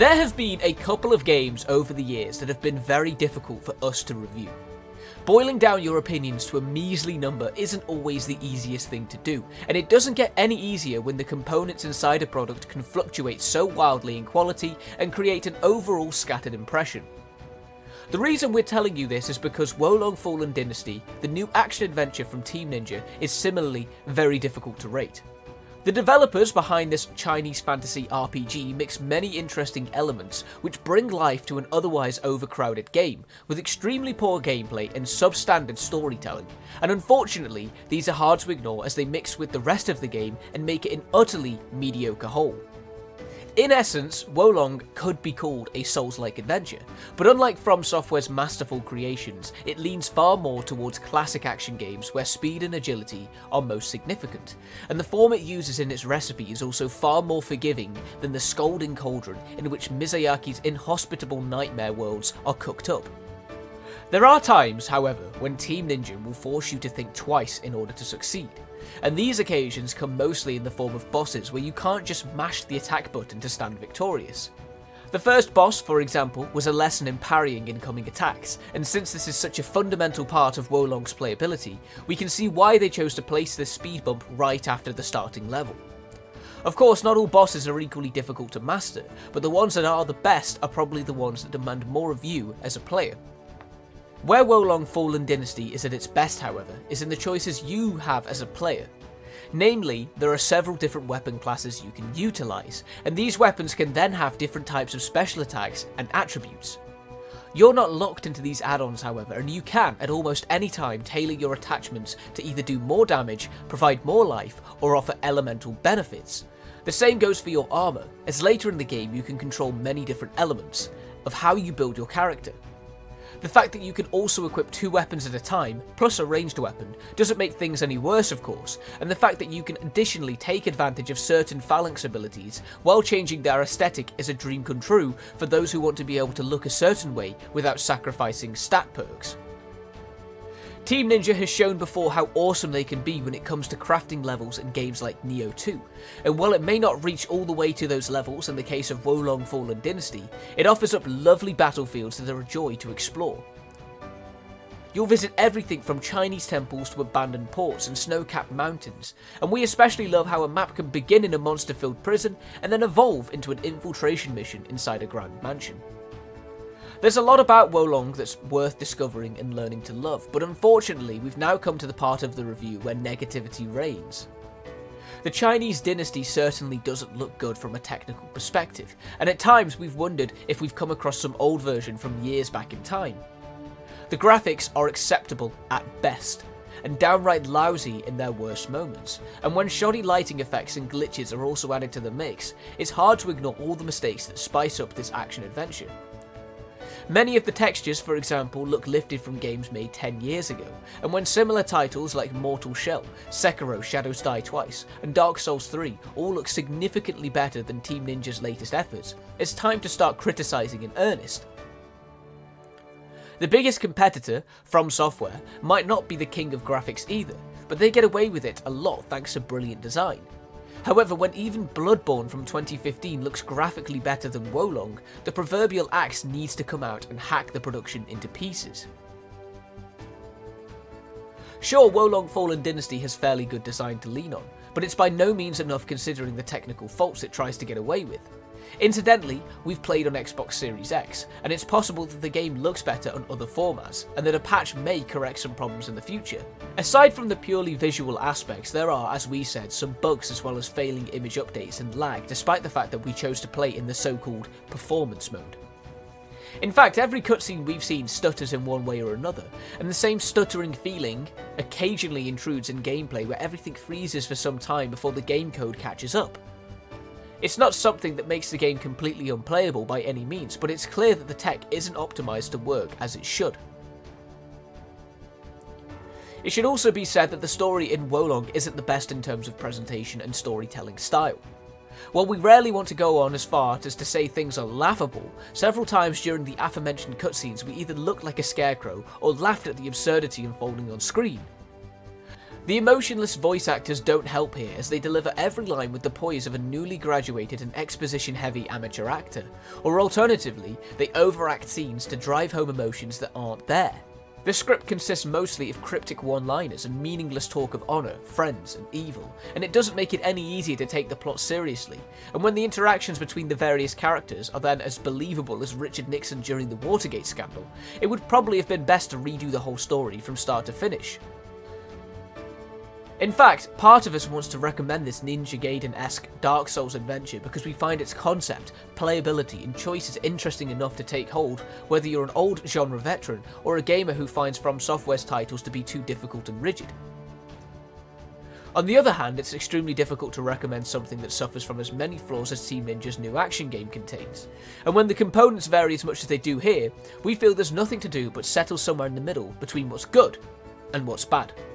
There have been a couple of games over the years that have been very difficult for us to review. Boiling down your opinions to a measly number isn't always the easiest thing to do, and it doesn't get any easier when the components inside a product can fluctuate so wildly in quality and create an overall scattered impression. The reason we're telling you this is because Wo Long Fallen Dynasty, the new action-adventure from Team Ninja, is similarly very difficult to rate. The developers behind this Chinese fantasy RPG mix many interesting elements which bring life to an otherwise overcrowded game, with extremely poor gameplay and substandard storytelling, and unfortunately these are hard to ignore as they mix with the rest of the game and make it an utterly mediocre whole. In essence, Wo Long could be called a Souls-like adventure, but unlike From Software's masterful creations, it leans far more towards classic action games where speed and agility are most significant, and the form it uses in its recipe is also far more forgiving than the scalding cauldron in which Miyazaki's inhospitable nightmare worlds are cooked up. There are times, however, when Team Ninja will force you to think twice in order to succeed, and these occasions come mostly in the form of bosses where you can't just mash the attack button to stand victorious. The first boss, for example, was a lesson in parrying incoming attacks, and since this is such a fundamental part of Wo Long's playability, we can see why they chose to place this speed bump right after the starting level. Of course, not all bosses are equally difficult to master, but the ones that are the best are probably the ones that demand more of you as a player. Where Wo Long Fallen Dynasty is at its best, however, is in the choices you have as a player. Namely, there are several different weapon classes you can utilise, and these weapons can then have different types of special attacks and attributes. You're not locked into these add-ons, however, and you can, at almost any time, tailor your attachments to either do more damage, provide more life, or offer elemental benefits. The same goes for your armour, as later in the game you can control many different elements of how you build your character. The fact that you can also equip 2 weapons at a time, plus a ranged weapon, doesn't make things any worse of course, and the fact that you can additionally take advantage of certain phalanx abilities while changing their aesthetic is a dream come true for those who want to be able to look a certain way without sacrificing stat perks. Team Ninja has shown before how awesome they can be when it comes to crafting levels in games like Nioh 2, and while it may not reach all the way to those levels in the case of Wo Long Fallen Dynasty, it offers up lovely battlefields that are a joy to explore. You'll visit everything from Chinese temples to abandoned ports and snow-capped mountains, and we especially love how a map can begin in a monster-filled prison and then evolve into an infiltration mission inside a grand mansion. There's a lot about Wo Long that's worth discovering and learning to love, but unfortunately we've now come to the part of the review where negativity reigns. The Chinese dynasty certainly doesn't look good from a technical perspective, and at times we've wondered if we've come across some old version from years back in time. The graphics are acceptable at best, and downright lousy in their worst moments, and when shoddy lighting effects and glitches are also added to the mix, it's hard to ignore all the mistakes that spice up this action-adventure. Many of the textures, for example, look lifted from games made 10 years ago, and when similar titles like Mortal Shell, Sekiro Shadows Die Twice, and Dark Souls 3 all look significantly better than Team Ninja's latest efforts, it's time to start criticising in earnest. The biggest competitor, From Software, might not be the king of graphics either, but they get away with it a lot thanks to brilliant design. However, when even Bloodborne from 2015 looks graphically better than Wo Long, the proverbial axe needs to come out and hack the production into pieces. Sure, Wo Long Fallen Dynasty has fairly good design to lean on, but it's by no means enough considering the technical faults it tries to get away with. Incidentally, we've played on Xbox Series X, and it's possible that the game looks better on other formats, and that a patch may correct some problems in the future. Aside from the purely visual aspects, there are, as we said, some bugs as well as failing image updates and lag, despite the fact that we chose to play in the so-called performance mode. In fact, every cutscene we've seen stutters in one way or another, and the same stuttering feeling occasionally intrudes in gameplay where everything freezes for some time before the game code catches up. It's not something that makes the game completely unplayable by any means, but it's clear that the tech isn't optimised to work as it should. It should also be said that the story in Wo Long isn't the best in terms of presentation and storytelling style. While we rarely want to go on as far as to say things are laughable, several times during the aforementioned cutscenes we either looked like a scarecrow or laughed at the absurdity unfolding on screen. The emotionless voice actors don't help here, as they deliver every line with the poise of a newly graduated and exposition-heavy amateur actor, or alternatively, they overact scenes to drive home emotions that aren't there. The script consists mostly of cryptic one-liners and meaningless talk of honour, friends, and evil, and it doesn't make it any easier to take the plot seriously, and when the interactions between the various characters are then as believable as Richard Nixon during the Watergate scandal, it would probably have been best to redo the whole story from start to finish. In fact, part of us wants to recommend this Ninja Gaiden-esque Dark Souls adventure because we find its concept, playability, and choices interesting enough to take hold, whether you're an old genre veteran or a gamer who finds From Software's titles to be too difficult and rigid. On the other hand, it's extremely difficult to recommend something that suffers from as many flaws as Team Ninja's new action game contains. And when the components vary as much as they do here, we feel there's nothing to do but settle somewhere in the middle between what's good and what's bad.